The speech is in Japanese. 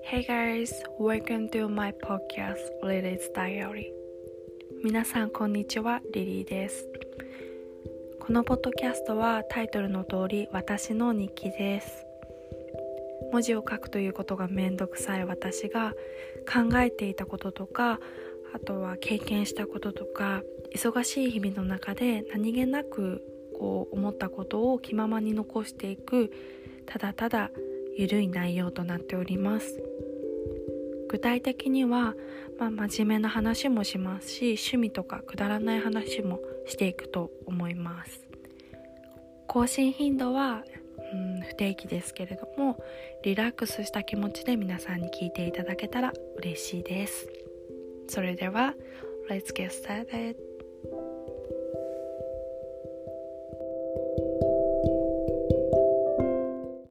Hey guys, welcome to my podcast Lily's Diary。 皆さんこんにちは、リリーです。このポッドキャストはタイトルの通り私の日記です。文字を書くということがめんどくさい私が考えていたこととか、あとは経験したこととか、忙しい日々の中で何気なく思ったことを気ままに残していく、ただただゆるい内容となっております。具体的には、真面目な話もしますし、趣味とかくだらない話もしていくと思います。更新頻度は不定期ですけれども、リラックスした気持ちで皆さんに聞いていただけたら嬉しいです。それでは Let's get started。